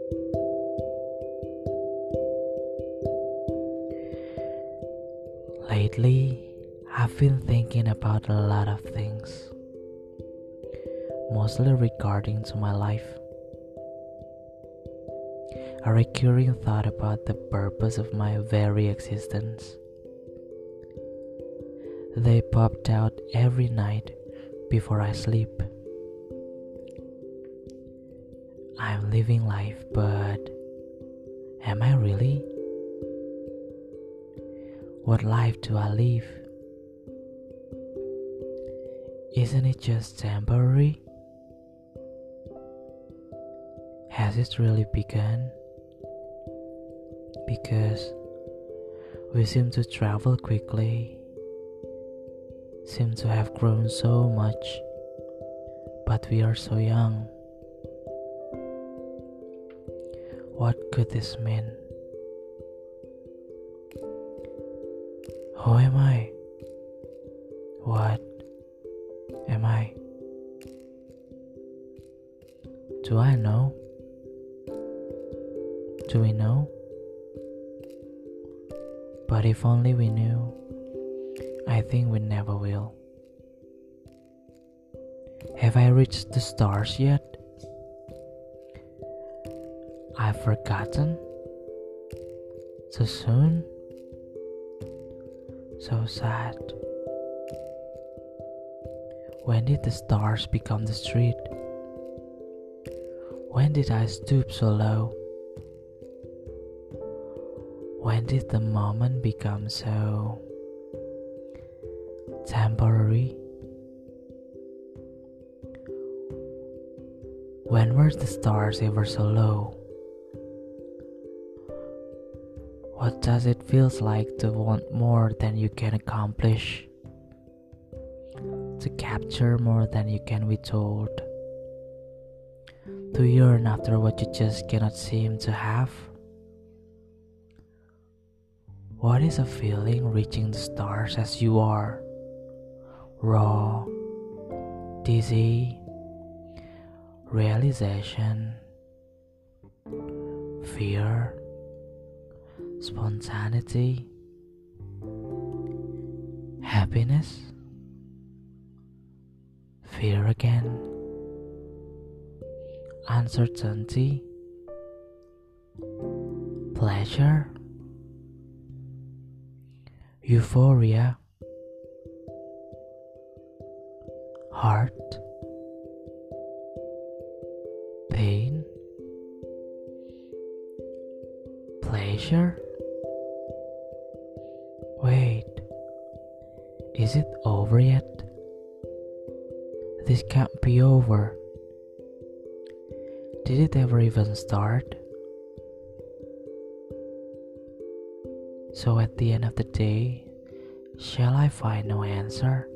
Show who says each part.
Speaker 1: Lately, I've been thinking about a lot of things, mostly regarding to my life. A recurring thought about the purpose of my very existence. They popped out every night before I sleep. I'm living life, but am I really? What life do I live? Isn't it just temporary? Has it really begun? Because we seem to travel quickly, seem to have grown so much, but we are so young. What could this mean? Who am I? What am I? Do I know? Do we know? But if only we knew, I think we never will. Have I reached the stars yet? I've forgotten? So soon? So sad. When did the stars become the street? When did I stoop so low? When did the moment become so temporary? When were the stars ever so low? What does it feel like to want more than you can accomplish? To capture more than you can be told? To yearn after what you just cannot seem to have? What is a feeling reaching the stars as you are? Raw, dizzy, realization, fear, spontaneity, happiness, fear again, uncertainty, pleasure, euphoria, heart, pain, pleasure. Wait, is it over yet? This can't be over. Did it ever even start? So at the end of the day, shall I find no answer?